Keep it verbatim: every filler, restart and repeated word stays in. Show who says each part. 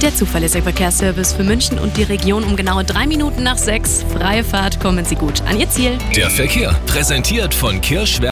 Speaker 1: Der zuverlässige Verkehrsservice für München und die Region um genau drei Minuten nach sechs. Freie Fahrt, kommen Sie gut an Ihr Ziel.
Speaker 2: Der Verkehr, präsentiert von Kirschwerk